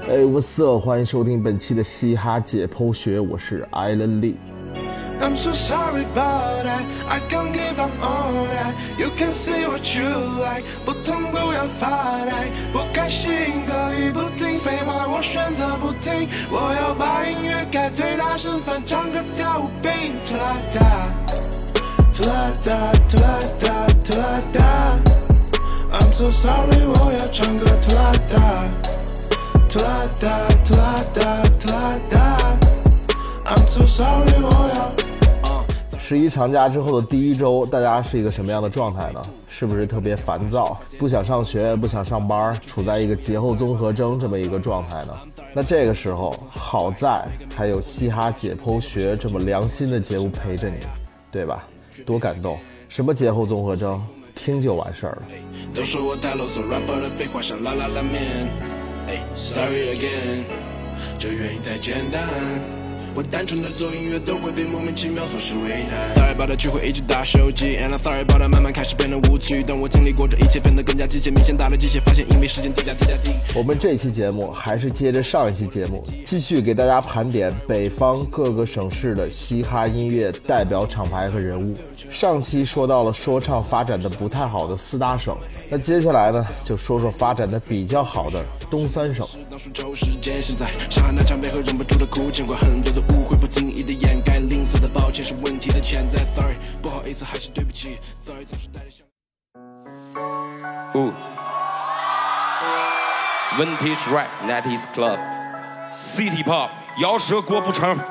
What's up？ 欢迎收听本期的嘻哈解剖学，我是 Island Lee。I'm so sorry about that, I can't give up on that. You can say what you like, 不痛不要发呆，不开心可以不听，废话我选择不听。我要把音乐开最大声，翻唱歌跳舞并拖拉达，拖拉达，拖拉达，拖拉达。I'm so sorry， 我要唱歌拖拉达，拖拉达，拖拉达，拖拉达。I'm so sorry， 我要。11长假之后的第一周，大家是一个什么样的状态呢？是不是特别烦躁，不想上学，不想上班，处在一个节后综合征这么一个状态呢？那这个时候，好在还有嘻哈解剖学这么良心的节目陪着你，对吧？多感动！什么节后综合征，听就完事儿了。 都说我太啰嗦 ，rapper 的废话像拉拉拉面。Sorry again， 这原因太简单。我单纯的做音乐都会被莫名其妙所是为难 Sorry about 聚会一直打手机 And I'm sorry about 慢慢开始变得无趣当我经历过这一切变得更加机械明显打了机械发现因为时间叠加我们这期节目还是接着上一期节目继续给大家盘点北方各个省市的嘻哈音乐代表厂牌和人物上期说到了说唱发展的不太好的4大省那接下来呢就说说发展的比较好的东3省当数周时间现在上海那场背后忍不住的哭见过很多的误会不经意的掩盖吝啬的抱歉是问题的潜在 Sorry 不好意思还是对不起 Sorry 总是带着问题是 rap That is club City pop 摇舌郭富城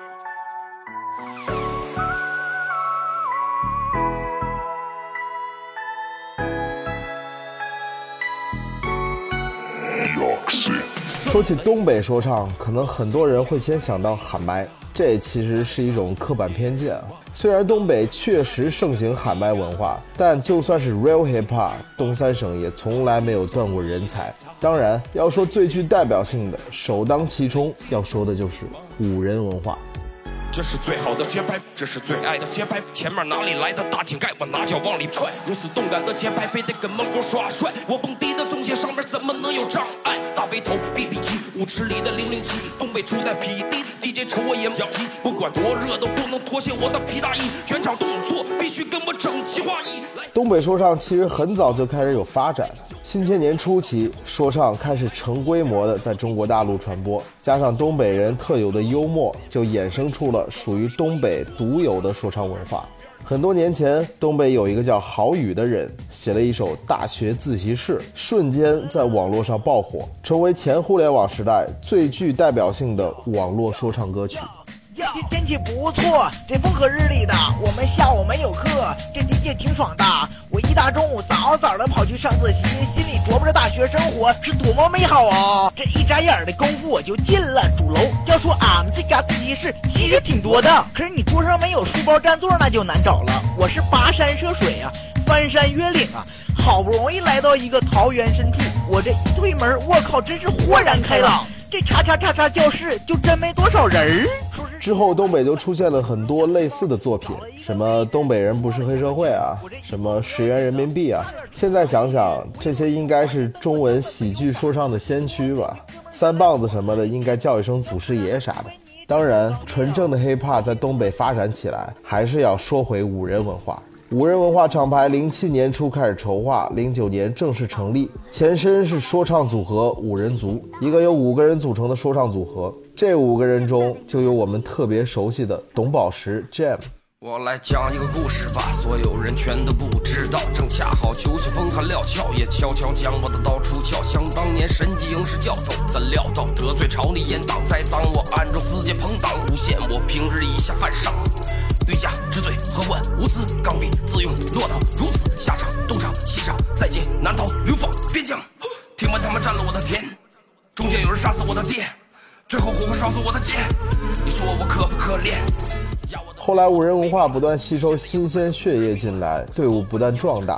说起东北说唱可能很多人会先想到喊麦这其实是一种刻板偏见虽然东北确实盛行喊麦文化但就算是 real hip hop 东3省也从来没有断过人才当然要说最具代表性的首当其冲要说的就是五人文化这是最好的节拍这是最爱的节拍前面哪里来的大井盖我拿脚往里踹如此动感的节拍非得跟门口耍帅我蹦迪的中间上面怎么能有障碍大背头 BB 机舞池里的007东北出在匹敌 DJ 瞅我也不急不管多热都不能脱下我的皮大衣全场动作必须跟我整齐划一东北说唱其实很早就开始有发展新千年初期说唱开始成规模的在中国大陆传播加上东北人特有的幽默就衍生出了属于东北独有的说唱文化很多年前东北有一个叫郝宇的人写了一首大学自习室瞬间在网络上爆火成为前互联网时代最具代表性的网络说唱歌曲天气不错这风和日丽的我们下午没有课这的确挺爽的我一大中午早早的跑去上自习心里琢磨着大学生活是多么美好啊这一眨眼的功夫我就进了主楼要说俺们这家自习室其实挺多的可是你桌上没有书包占座那就难找了我是跋山涉水啊翻山越岭啊好不容易来到一个桃源深处我这一推门我靠真是豁然开朗这叉教室就真没多少人之后东北就出现了很多类似的作品什么东北人不是黑社会啊什么10元人民币啊现在想想这些应该是中文喜剧说唱的先驱吧三棒子什么的应该叫一声祖师爷啥的当然纯正的 hiphop 在东北发展起来还是要说回五人文化五人文化厂牌07年初开始筹划09年正式成立前身是说唱组合五人族一个由5个人组成的说唱组合这5个人中就有我们特别熟悉的董宝石 Jam 我来讲一个故事吧所有人全都不知道正恰好球鞋风寒料峭也悄悄将我的刀出鞘想当年神级营师教授怎料到得罪朝里严党栽赃我暗中私结朋党诬陷我平日以下犯上欲加之罪何患无私刚愎自用落到如此下场东厂西厂再见南逃流放边疆听闻他们占了我的田中间有人杀死我的爹最后活活烧死我的姐你说我可不可怜后来五人文化不断吸收新鲜血液进来队伍不断壮大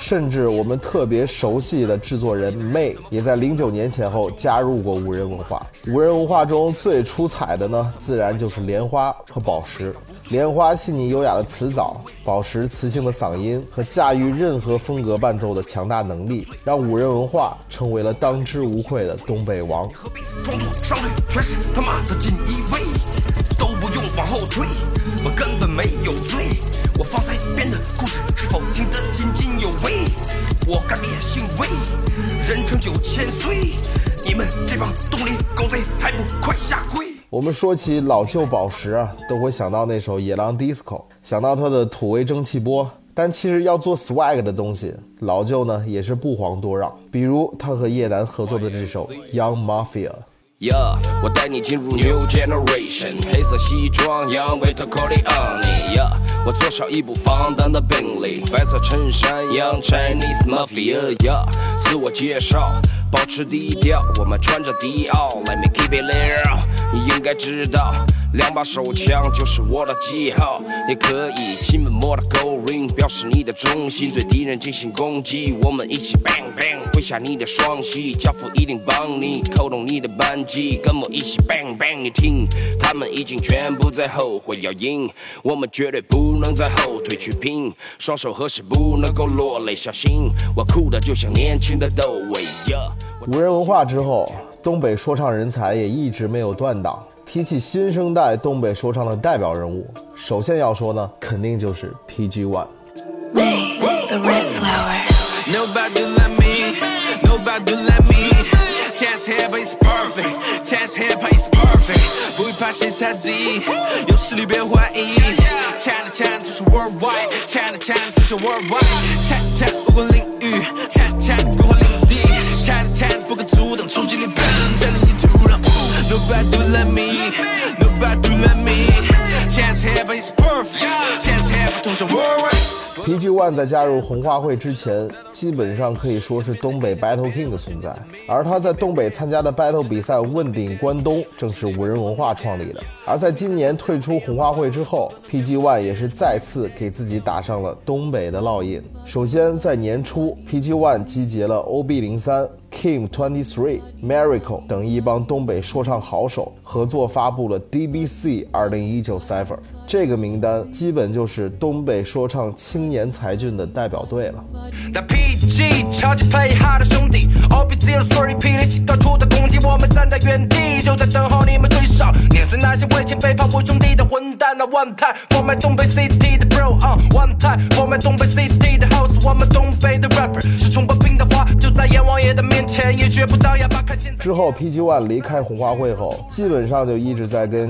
甚至我们特别熟悉的制作人 May 也在09年前后加入过五人文化。五人文化中最出彩的呢，自然就是莲花和宝石。莲花细腻优雅的词藻，宝石磁性的嗓音和驾驭任何风格伴奏的强大能力，让五人文化成为了当之无愧的东北王。 装作上队全是他妈的锦衣卫，都不用往后退，我根本没有罪，我放塞编的故事是否听得津津有味？我干烈性味，人称9000岁，你们这帮东林狗贼还不快下跪！ 我们说起老旧宝石啊，都会想到那首野狼 disco， 想到它的土味蒸汽波。但其实要做 swag 的东西，老旧呢也是不遑多让。比如他和叶楠合作的这首 Young Mafia。Yeah， 我带你进入 New Generation， 黑色西装 Young Vito Corleone。Yeah， 我坐上一部放荡的宾利，白色衬衫 Young Chinese Mafia。Yeah， 自我介绍，保持低调，我们穿着迪奥 Let me keep it real。你应该知道，2把手枪就是我的记号。你可以亲吻我的狗 ring， 表示你的忠心，对敌人进行攻击。我们一起 bang bang， 挥下你的双膝，教父一定帮你扣动你的扳机，跟我一起 bang bang。你听，他们已经全部在后悔要赢，我们绝对不能再后退去拼，双手合十不能够落泪，小心我哭得就像年轻的窦唯。 五人文化之后，东北说唱人才也一直没有断档。提起新生代东北说唱的代表人物，首先要说呢，肯定就是 PG-1。The Red Flower。Nobody let me, nobody let me. Chance hip is perfect, chance hip is perfect. 不会怕谁猜忌，有实力别怀疑。Chant chant 就是 worldwide, chant chant 就是 worldwide。Chant chant 不管领域 ，chant chant 规划领地 ，chant chant 不可阻挡，冲击力奔在领域土壤。Nobody let me, nobody let me. Chance hip is perfect, chance hip 同上 worldwide。PG-1 在加入红花会之前，基本上可以说是东北 Battle King 的存在，而他在东北参加的 Battle 比赛问鼎关东，正是五人文化创立的。而在今年退出红花会之后， PG-1 也是再次给自己打上了东北的烙印。首先在年初， PG-1 集结了 OB03、Kim23、Miracle 等一帮东北说唱好手，合作发布了 DBC 2019 Cypher。这个名单基本就是东北说唱青年才俊的代表队了。 那 PG 超级配哈的兄弟 OB03 霹雳西高处的攻击，我们站在原地就在等候你们追上，碾碎那些为情背叛我兄弟的混蛋。那 One time for my 东北 City 的 Bro One time for my 东北 City 的 House， 我们东北的 Rapper 是冲破冰的花，就在阎王爷的面前也绝不倒哑巴。看现在之后 PG-1 离开红花会后，基本上就一直在跟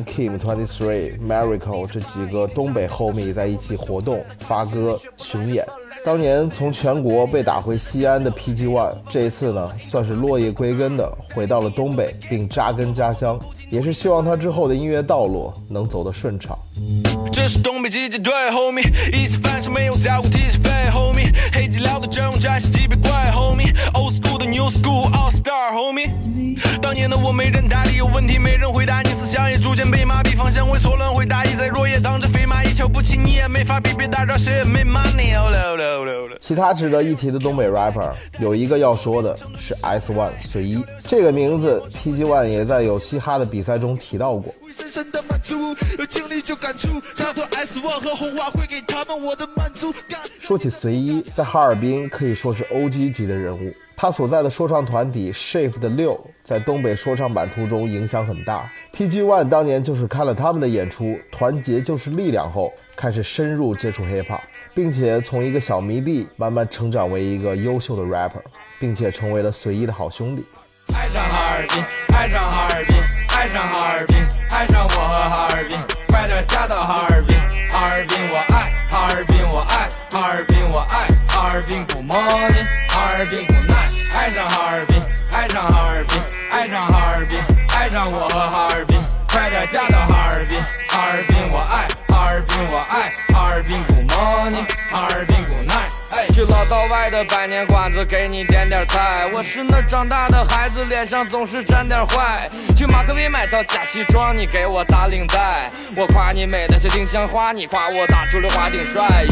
Kim23、Miracle 这几个东北 homie 在一起活动、发歌、巡演。当年从全国被打回西安的 PG-1， 这一次呢，算是落叶归根的回到了东北，并扎根家乡，也是希望他之后的音乐道路能走得顺畅。 这是东北击击队 homie， 一起翻身没有交过提起费 homie， 黑吉辽的阵容战士级别怪 homie， old school 的 new school all star homie。当年的我没人搭理，有问题没人回答，你思想也逐渐被麻痹，方向会错乱，会大意在若叶当着飞马，也瞧不起你也没法比，别打扰谁也没 money。 其他值得一提的东北 rapper 有一个要说的是 S1 随一，这个名字 PG-1 也在有嘻哈的比赛中提到过。 深深的满足，有经历就感触，洒脱 S1 和红花会给他们我的满足。 说起随一，在哈尔滨可以说是 OG 级的人物，他所在的说唱团体 Shift 的6在东北说唱版图中影响很大。PG-1 当年就是看了他们的演出团结就是力量后，开始深入接触 hiphop， 并且从一个小迷弟慢慢成长为一个优秀的 rapper， 并且成为了随一的好兄弟。 爱上哈尔滨，爱上哈尔滨，爱上哈尔滨，爱上我和哈尔滨，快点嫁到哈尔滨，哈尔滨我爱，哈尔滨我爱，哈尔滨我爱，哈尔滨 good morning， 哈尔滨 good night， 爱上哈尔滨，爱上哈尔滨，爱上哈尔滨，爱上我和哈尔滨，快点嫁到哈尔滨，哈尔滨我爱，哈尔滨我爱，哈尔滨 good morning， 哈尔滨 good night。去老道外的百年馆子给你点点菜，我是那长大的孩子，脸上总是沾点坏。去马克杯买套假西装，你给我打领带，我夸你美的像丁香花，你夸我打出溜滑顶帅。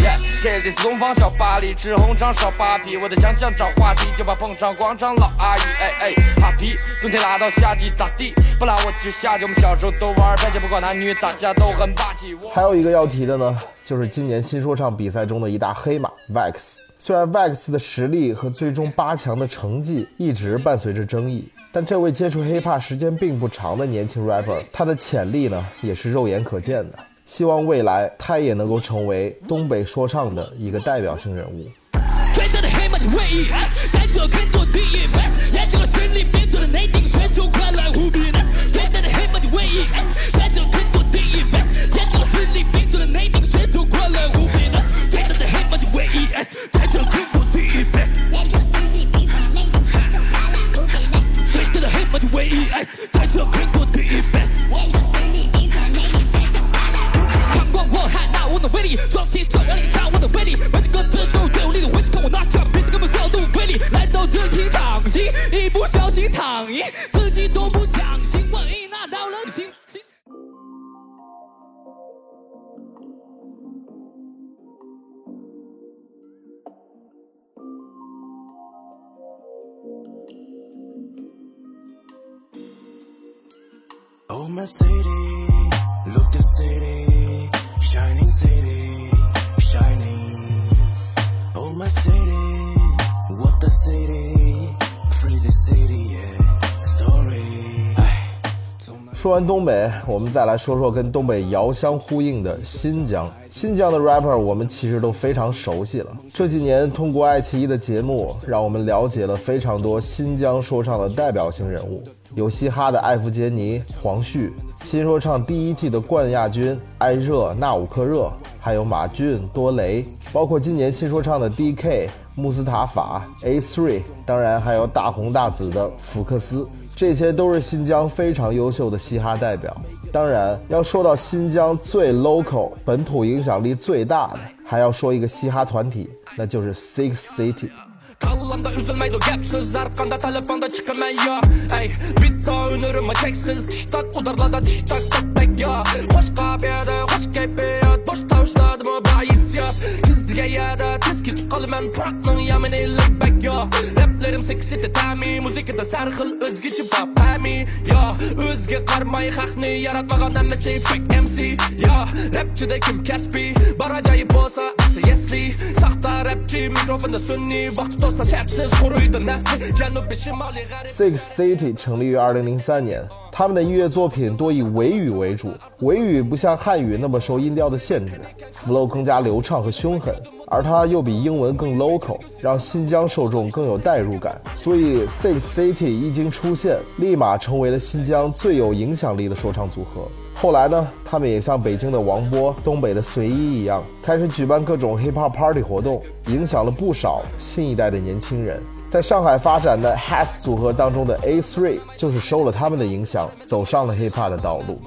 这里是东方小巴黎，吃红肠烧扒皮，我的强项找话题，就怕碰上广场老阿姨。哈皮，冬天拉到夏季打地，不拉我就下去。我们小时候都玩白切，不管男女，大家都很霸气。 还有一个要提的呢，就是今年新说唱比赛中的一大黑马 Vex。虽然 Vex 的实力和最终8强的成绩一直伴随着争议，但这位接触 hiphop 时间并不长的年轻 rapper， 他的潜力呢也是肉眼可见的。希望未来他也能够成为东北说唱的一个代表性人物。 最大的黑马就为 ES， 在这肯多的 invest， 眼睛和实力变做了内定选手，快来互比 NS。最大的黑马就为 ES， 在这肯多的 invest， 眼睛和实力变做了内定选手，快来互比 NS。最大的黑马就为 ES， 在这肯多的 invest， 眼睛和实力变做了内定选手，快来互比 NS。最大的黑马就为 ES， 在这肯多的 invest， 眼睛和实力变做了内定选手，快来互比 NS。光我喊那我的威力，装起手让你尝我的威力，每句歌词都有力的位置，看我拿下，别根本小都威力，来到这厅场戏，一不小心躺赢，自己都不相信，万一拿到了星星。 Oh my city, look the city, shining city, shining. Oh my city, what the city, freezing city, yeah, story. 说完东北，我们再来说说跟东北遥相呼应的新疆。新疆的 rapper 我们其实都非常熟悉了。这几年通过爱奇艺的节目，让我们了解了非常多新疆说唱的代表性人物，有嘻哈的艾弗杰尼、黄旭，新说唱第1季的冠亚军艾热、纳吾克热，还有马俊、多雷，包括今年新说唱的 DK、穆斯塔法、A3， 当然还有大红大紫的福克斯。这些都是新疆非常优秀的嘻哈代表。当然要说到新疆最 local 本土影响力最大的，还要说一个嘻哈团体，那就是 Six City。 Kallamda üzülmeydi gap söz arkanda telefonda çıkaman ya Ey bitta ünürümü çeksiz Tiştak udarlarda tiştak tek ya Hoş kabiyada hoş keyfiyat Boş tavuşladı mı bahis ya Kızdıga yada tezki tutqalı men Purakның yamini ligbek ya Raplerim Six City tami Muzikada sarxil özgeci papami Ya özge qarmay haqni yaratmagan emmesi fake MC Ya rapçide kim kesbi Baracayip olsa aslı yesli Saxta rapçi mikrofonda sünni Vaxt Six City 成立于2003年，他们的音乐作品多以维语为主，维语不像汉语那么受音调的限制 ，flow 更加流畅和凶狠，而它又比英文更 local， 让新疆受众更有代入感。所以 Six City 一经出现，立马成为了新疆最有影响力的说唱组合。后来呢，他们也像北京的王波、东北的随一一样，开始举办各种 hip-hop party 活动，影响了不少新一代的年轻人。在上海发展的 Has 组合当中的 A3 就是受了他们的影响，走上了 hiphop 的道路。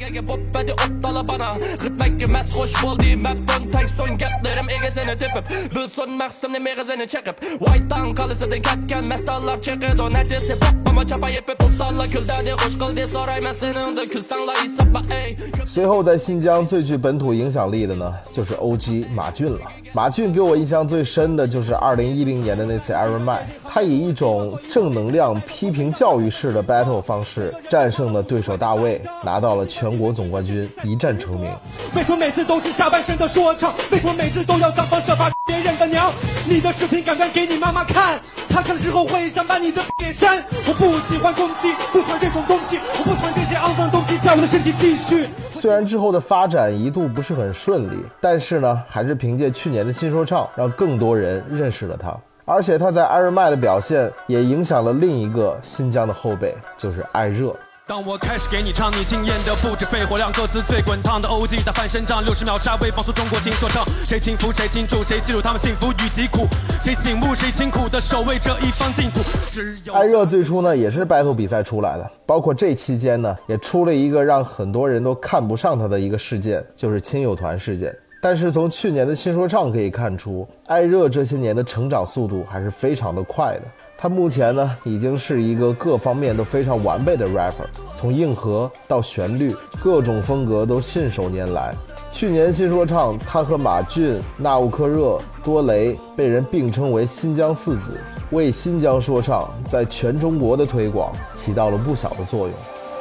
随后在新疆最具本土影响力的呢，就是 OG 马俊了。马俊给我印象最深的就是2010年的那次 Iron Man， 他以一种正能量批评教育式的 battle 方式战胜了对手大卫，拿到了全国总冠军，一战成名。 为什么每次都是下半身的说唱？为什么每次都要想方设法别人的娘？你的视频赶快给你妈妈看，她看的时候会想把你的给删。我不喜欢攻击，不喜欢这种东西，我不喜欢这些肮脏东西在我的身体继续。 虽然之后的发展一度不是很顺利，但是呢，还是凭借去年的新说唱，让更多人认识了他。而且他在 Iron Man 的表现也影响了另一个新疆的后辈，就是艾热。 当我开始给你唱，你惊艳的不止肺活量，歌词最滚烫的 OG 打翻身仗，60秒杀威放出中国新说唱，谁轻浮谁庆祝，谁记住他们幸福与疾苦，谁醒目谁辛苦的守卫这一方净土。 艾热最初呢也是 battle 比赛出来的，包括这期间呢也出了一个让很多人都看不上他的一个事件，就是亲友团事件。但是从去年的新说唱可以看出，艾热这些年的成长速度还是非常的快的。他目前呢已经是一个各方面都非常完备的 rapper， 从硬核到旋律，各种风格都信手拈来。 去年新说唱他和马俊、纳乌克热、多雷被人并称为新疆四子，为新疆说唱在全中国的推广起到了不小的作用。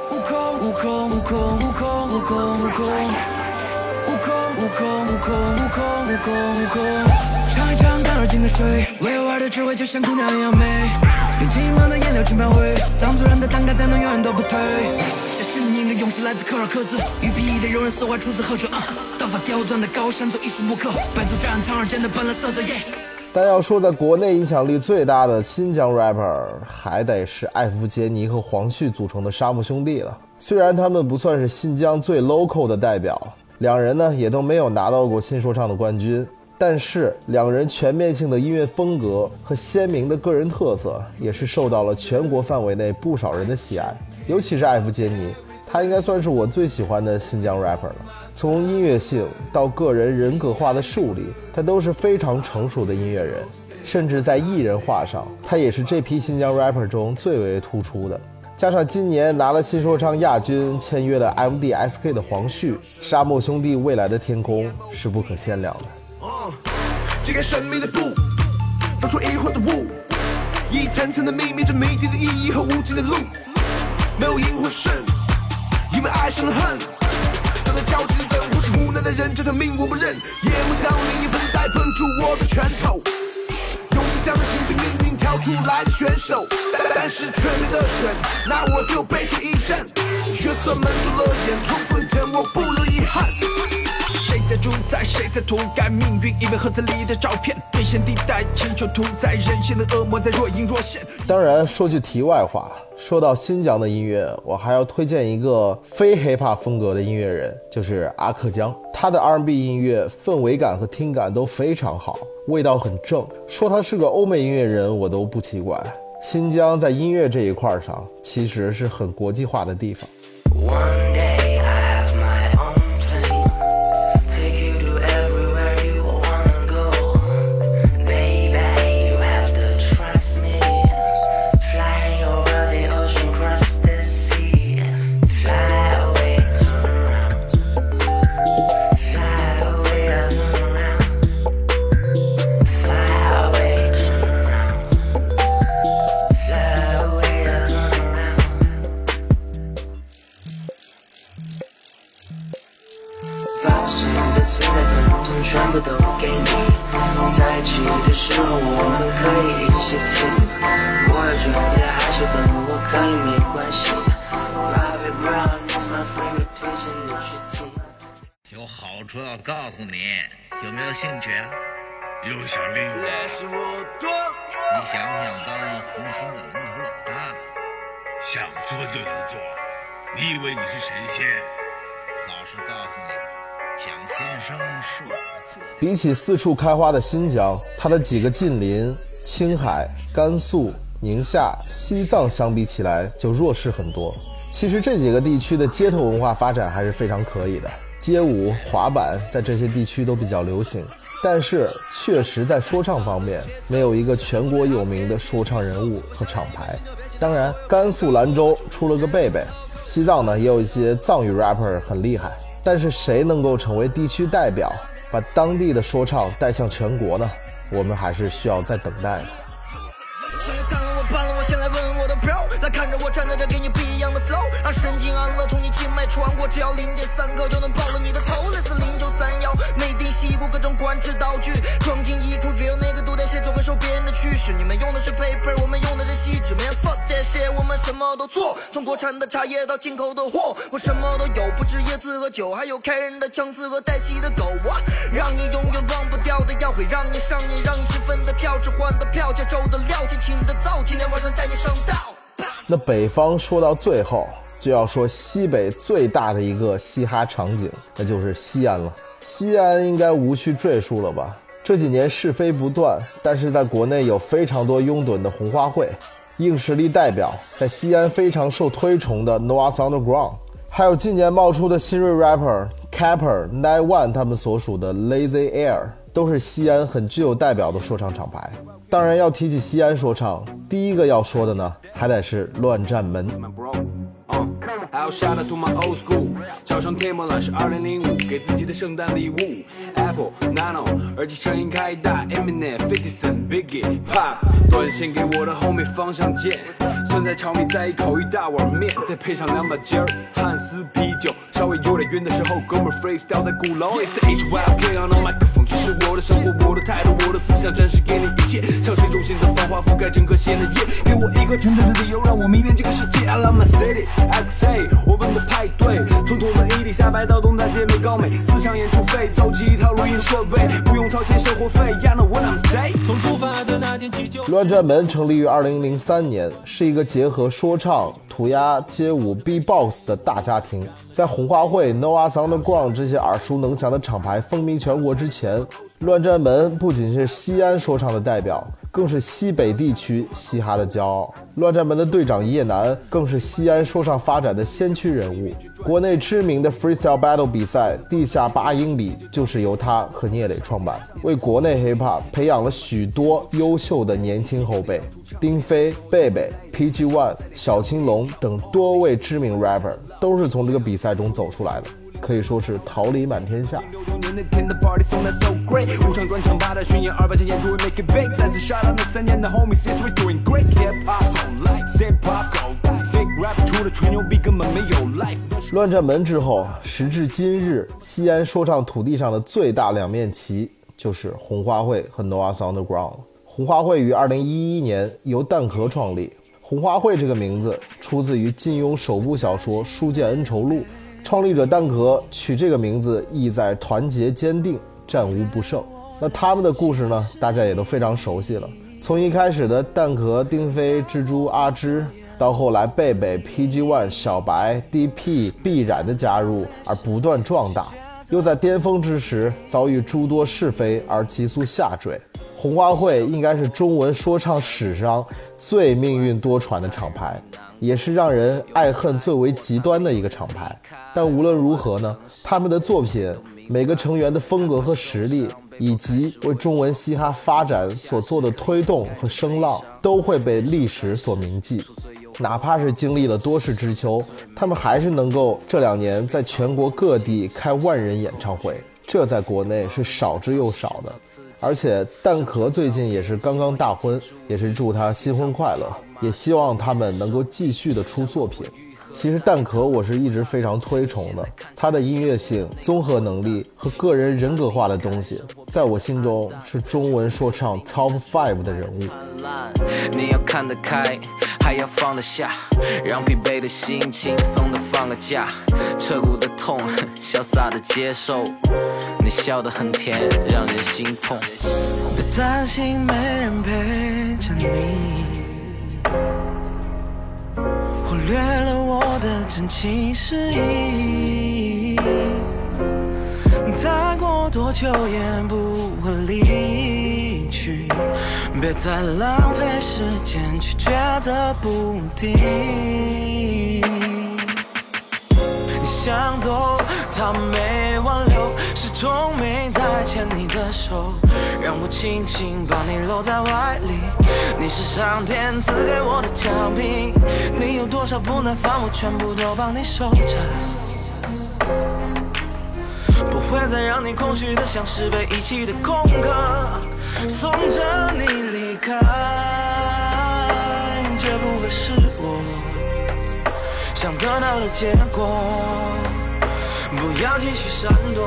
尝一尝淡而静的水，委婉的智慧就像姑娘一样美，用轻慢的颜料去描绘，藏族人的胆敢才能永远都不退。写诗你的勇士来自科尔克孜，御笔的柔韧丝滑出自何处？刀法刁钻的高山做艺术木刻，百足斩苍耳间的斑斓色泽。 但要说在国内影响力最大的新疆 rapper， 还得是艾弗杰尼和黄旭组成的沙漠兄弟了。虽然他们不算是新疆最 local 的代表，两人呢也都没有拿到过新说唱的冠军，但是两人全面性的音乐风格和鲜明的个人特色也是受到了全国范围内不少人的喜爱。尤其是艾弗杰尼，他应该算是我最喜欢的新疆 rapper 了。从音乐性到个人人格化的树立，他都是非常成熟的音乐人，甚至在艺人化上，他也是这批新疆 rapper 中最为突出的。加上今年拿了新说唱亚军，签约了 MDSK 的黄旭，沙漠兄弟未来的天空是不可限量的。 揭开神秘的布，放出疑惑的雾，一层层的秘密，这谜底的意义和无尽的路，没有赢或胜，因为爱上了恨，等待交集的等，或是无奈的人，这条命我不认。夜幕降临，一盆栽碰出我的拳头，勇士将的心比命运挑出来的选手，但是却没得选，那我就悲催一战。角色们做了演出，混成我不留遗憾。谁在主宰，谁在涂改命运？因为盒子里的照片，危险地带，请求屠宰，人性的恶魔在若隐若现。 当然，说句题外话，说到新疆的音乐，我还要推荐一个非 hiphop 风格的音乐人，就是阿克江。他的 R&B 音乐氛围感和听感都非常好，味道很正。说他是个欧美音乐人，我都不奇怪。新疆在音乐这一块上，其实是很国际化的地方。 One day I have my own plane, take you to everywhere you wanna go. Baby, you have to trust me. Flying over the ocean, cross the sea. Fly away, turn around. Fly away, turn around. Fly away, turn around. Fly away, turn around.把所有的期待统统全部都给你，在一起的时候我们可以一起听，我要觉得害羞跟我可以没关系。Bobby Brown is my favorite， 推荐你去听。 有好处要告诉你，有没有兴趣啊？ 有想利用， 你想不想当红星的龙头老大？ 想做就能做，你以为你是神仙？ 老实告诉你，蒋天生是我做的。 比起四处开花的新疆，它的几个近邻青海、甘肃、宁夏、西藏相比起来就弱势很多。其实这几个地区的街头文化发展还是非常可以的，街舞、滑板在这些地区都比较流行，但是确实在说唱方面没有一个全国有名的说唱人物和厂牌。当然甘肃兰州出了个贝贝，西藏呢也有一些藏语 rapper 很厉害，但是谁能够成为地区代表，把当地的说唱带向全国呢？我们还是需要再等待的。 谁干了我办了我，先来问我的 bro， 来看着我站在这，给你不一样的 flow， 让神经安乐，同你静脉穿过，只要0.3克就能爆了你的头，类似0931，没定西部各种管制道具，装进衣库，只有那个独带谁总会受别人的驱使。你们用的是 paper， 我们用的是锡纸 ，man fuck that shit， 我们什么都做，从国产的茶叶到进口的货，我什么都有，不止椰子和酒，还有开人的枪支和带气的狗啊，让你永远忘不掉的药，会让你上瘾，让你兴奋的跳，置换的票，节奏的料，尽情的造，今天晚上带你上道。 那北方说到最后，就要说西北最大的一个嘻哈场景，那就是西安了。西安应该无需赘述了吧？这几年是非不断，但是在国内有非常多拥趸的红花会，硬实力代表在西安非常受推崇的 Noah's Underground， 还有近年冒出的新锐 rapper、Capper、91他们所属的 Lazy Air， 都是西安很具有代表的说唱厂牌。当然要提起西安说唱，第一个要说的呢，还得是乱战门。 还有 shout out to my old school。早上天幕蓝是2005，给自己的圣诞礼物。Apple Nano， 耳机声音开大 ，Eminem、50 Cent、Biggie、Pop， 短信给我的后面方向键，酸菜炒米再一口一大碗面，再配上2把尖儿汉斯啤酒，稍微有点晕的时候，哥们 freestyle 在鼓楼。It's the HYK on the microphone， 这是我的生活，我的态度，我的思想，展示给你一切，像水中心的繁华覆盖整个线的夜，给我一个纯粹的理由，让我迷恋这个世界。I love my city，I could say， 我们的派对，从土门一地下白到东大街美高美，4场演出费，凑齐一套录音设备，不用掏钱生活费。Yeah know what I'm saying。从出发的那天起就。 乱战门成立于2003年，是一个结合说唱、涂鸦、街舞、B-box 的大家庭。在红花会、Noah's Underground 这些耳熟能详的厂牌风靡全国之前，乱战门不仅是西安说唱的代表，更是西北地区嘻哈的骄傲。乱战门的队长叶楠更是西安说唱发展的先驱人物。国内知名的 freestyle battle 比赛地下8英里就是由他和聂磊创办，为国内 hiphop 培养了许多优秀的年轻后辈。丁飞、贝贝、PG One、小青龙等多位知名 rapper 都是从这个比赛中走出来的，可以说是桃李满天下。 那天的 party 送的 so great， 5场专场8台巡演200场演出 make it big， 再次 shout out 那3年的 homies is we doing great。 Hip hop on life say pop go fake rap 除了吹牛逼根本没有 life。 乱战门之后，时至今日，西安说唱土地上的最大两面旗就是红花会和 Noah's Underground。 红花会于2011年由蛋壳创立，红花会这个名字出自于金庸首部小说《书剑恩仇录》，创立者蛋壳取这个名字意在团结坚定，战无不胜。那他们的故事呢，大家也都非常熟悉了。从一开始的蛋壳、丁飞、蜘蛛、阿芝，到后来贝贝、PG One、小白、DP、必然的加入而不断壮大，又在巅峰之时遭遇诸多是非而急速下坠。红花会应该是中文说唱史上最命运多舛的厂牌，也是让人爱恨最为极端的一个厂牌。但无论如何呢，他们的作品，每个成员的风格和实力，以及为中文嘻哈发展所做的推动和声浪，都会被历史所铭记。哪怕是经历了多事之秋，他们还是能够这2年在全国各地开万人演唱会，这在国内是少之又少的。而且蛋壳最近也是刚刚大婚，也是祝他新婚快乐，也希望他们能够继续的出作品。其实蛋壳我是一直非常推崇的，他的音乐性、综合能力和个人人格化的东西，在我心中是中文说唱 Top 5的人物。 你要看得开，还要放得下，让疲惫的心轻松的放个假，彻骨的痛潇洒的接受，你笑得很甜让人心痛。别担心没人陪着你，忽略了我的真情实意，再过多久也不会离去，别再浪费时间去抉择不定。你想走他没挽留，始终没再牵你的手，让我轻轻把你搂在怀里，你是上天赐给我的奖品，你有多少不耐烦我全部都帮你收着，不会再让你空虚的像是被遗弃的空壳，送着你离开，绝不会是我想得到的结果，不要继续闪躲。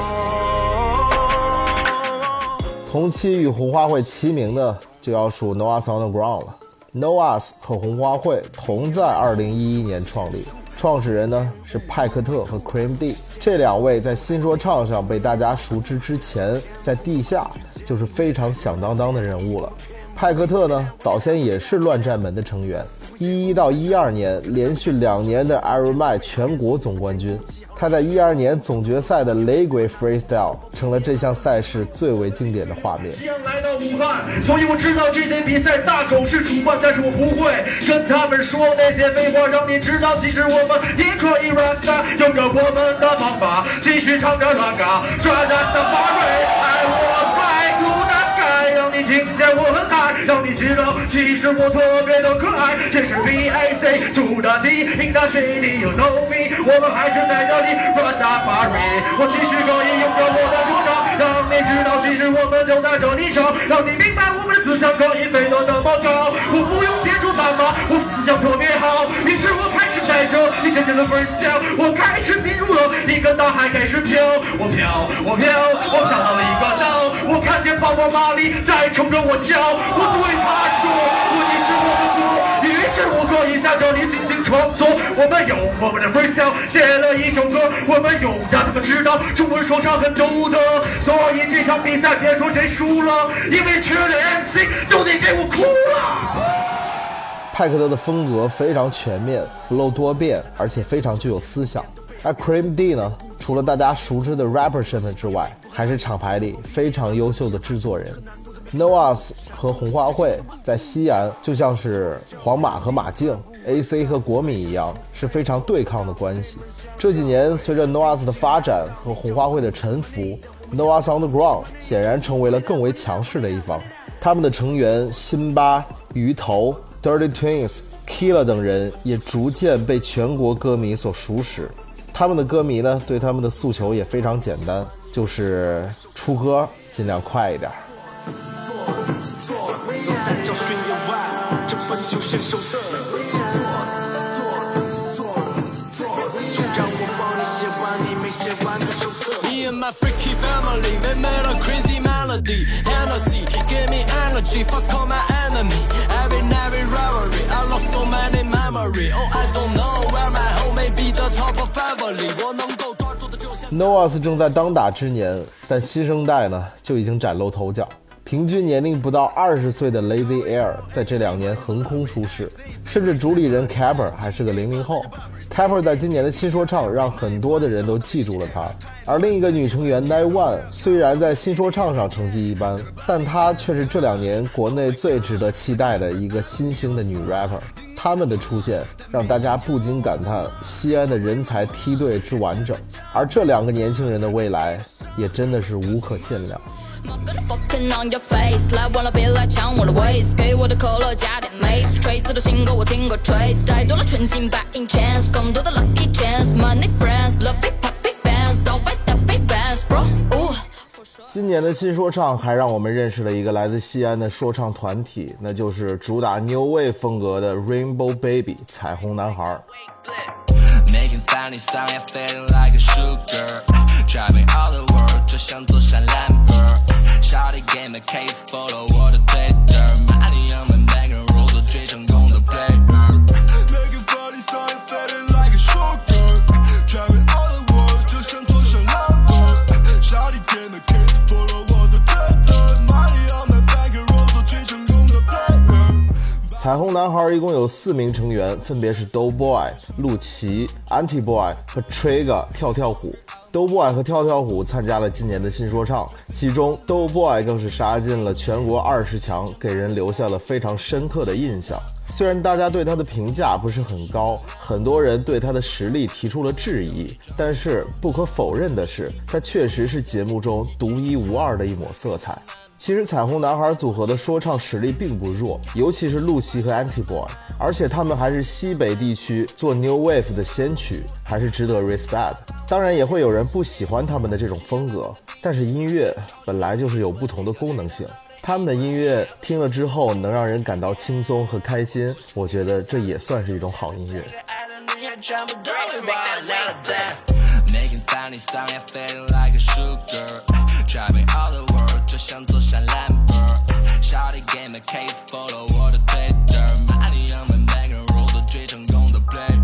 同期与红花会齐名的就要数 Noah's Underground 了。Noah's 和红花会同在2011年创立，创始人呢是派克特和 Cream D， 这2位在新说唱上被大家熟知之前，在地下就是非常响当当的人物了。派克特呢早先也是乱战门的成员，11到12年连续2年的 Iron Man 全国总冠军。他在12年总决赛的雷鬼 freestyle 成了这项赛事最为经典的画面。 先来到武汉，所以我知道这场比赛大狗是主办，但是我不会跟他们说那些废话，让你知道其实我们也可以 rasta， 用着我们的方法继续唱着乱嘎，转燃的花蕊，爱我 fly to the sky， 让你听见我很爱，让你你知道，其实我特别的可爱。这是 VAC 主打的赢打 CD you know me， 我们还是在这里 run that party。我继续可以用着我的说唱，让你知道，其实我们就在这里唱，让你明白我们的思想可以飞得那么高。我不用借助斑马，我思想特别好。于是我开始带着你真正的 freestyle， 我开始进入了一个大海，开始飘，我飘到了一个岛，我看见宝宝玛丽在冲着我笑，我对他说，你是我的歌，于是我可以在这里进行创作。我们用我们的 freestyle 写了一首歌，我们用让他们知道中文说唱很独特。所以这场比赛别说谁输了，因为缺了 MC 就得给我哭了。 派克特的风格非常全面 ，flow 多变，而且非常具有思想。而 Cream D 呢，除了大家熟知的 rapper 身份之外，还是厂牌里非常优秀的制作人。NOAS 和红花会在西安就像是皇马和马竞 ，AC 和国米一样，是非常对抗的关系。这几年随着 NOAS 的发展和红花会的沉浮 ，NOAS on the ground 显然成为了更为强势的一方。他们的成员辛巴、鱼头、Dirty Twins、Killa 等人也逐渐被全国歌迷所熟识。他们的歌迷呢，对他们的诉求也非常简单，就是出歌尽量快一点。 My freaky family, they made a crazy melody. Hennessy, give me energy, fuck all my enemy. Every night we rivalry, I lost so many memory. Oh, I don't know where my home may be the top of Beverly. 我能够抓住的就像 NOAS 正在当打之年，但新生代呢就已经崭露头角。平均年龄不到20岁的 Lazy Air 在这2年横空出世，甚至主理人 Capper 还是个00后。Capper 在今年的新说唱让很多的人都记住了他，而另一个女成员 Nine 虽然在新说唱上成绩一般，但她却是这2年国内最值得期待的一个新兴的女 rapper。他们的出现让大家不禁感叹西安的人才梯队之完整，而这2个年轻人的未来也真的是无可限量。 Fucking on your face， 来完了别来抢我的位子，给我的可乐加点 mace， 锤子的新歌我听过 trace， 太多了纯净白银 chance， 更多的 lucky chance，money friends，love it puppy fans， 到位的 big fans bro。 今年的新说唱还让我们认识了一个来自西安的说唱团体，那就是主打 New Wave 风格的 Rainbow Baby 彩虹男孩。Driving all the world 就像坐上蓝本 Shawty gave me case follow 我的 Twitter 玛丽亚们每个人 roll 都最成功的 player Making funny song and feeling like a shooter Driving all the world 就像坐上蓝本 Shawty gave me case follow 我的 Twitter 玛丽亚们每个人 roll 都最成功的 player 彩虹男孩一共有4名成员，分别是 Doughboy、陆琪、Antiboy 和 Trigger 跳跳虎。Doughboy 和跳跳虎参加了今年的新说唱，其中 Doughboy 更是杀进了全国20强，给人留下了非常深刻的印象。虽然大家对他的评价不是很高，很多人对他的实力提出了质疑，但是不可否认的是，他确实是节目中独一无二的一抹色彩。其实彩虹男孩组合的说唱实力并不弱，尤其是陆琪和 Antiboy， 而且他们还是西北地区做 New Wave 的先驱，还是值得 respect。当然也会有人不喜欢他们的这种风格，但是音乐本来就是有不同的功能性，他们的音乐听了之后能让人感到轻松和开心，我觉得这也算是一种好音乐。Driving all the world 就像坐上蓝本 Shawty gave me case follow 我的 Twitter 玛丽亚们每个人 roll 都最成功的 player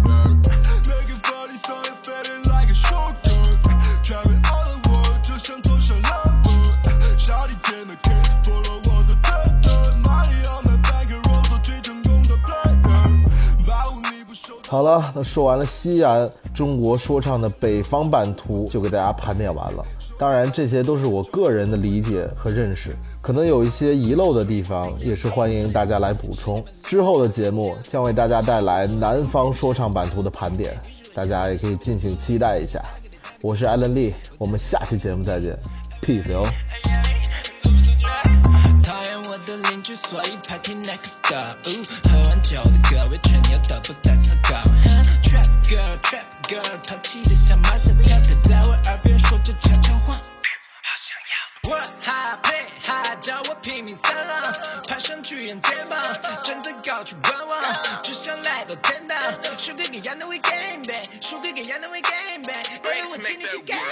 Making funny song and feeling like a shooter Driving all the world 就像坐上蓝本 Shawty gave me case follow 我的 Twitter 玛丽亚们每个人 roll 都最成功的 player 保护你不受好了，那说完了西安中国说唱的北方版图，就给大家盘点完了。当然这些都是我个人的理解和认识，可能有一些遗漏的地方，也是欢迎大家来补充。之后的节目将为大家带来南方说唱版图的盘点，大家也可以敬请期待一下。我是 Alan Lee， 我们下期节目再见 ，Peace 哟。讨厌我的邻居所以派听 next go。喝完酒的各位吹牛都不带草稿。Trap girl，Trap girl， 淘气的像马小跳，她在我耳边说着悄悄话。Work hard, play hard， 叫我拼命三郎，爬上巨人肩膀，站在高处观望，只想来到天堂。输给亚当为 game back， 输给亚当为 game back， 因为我请你去 game。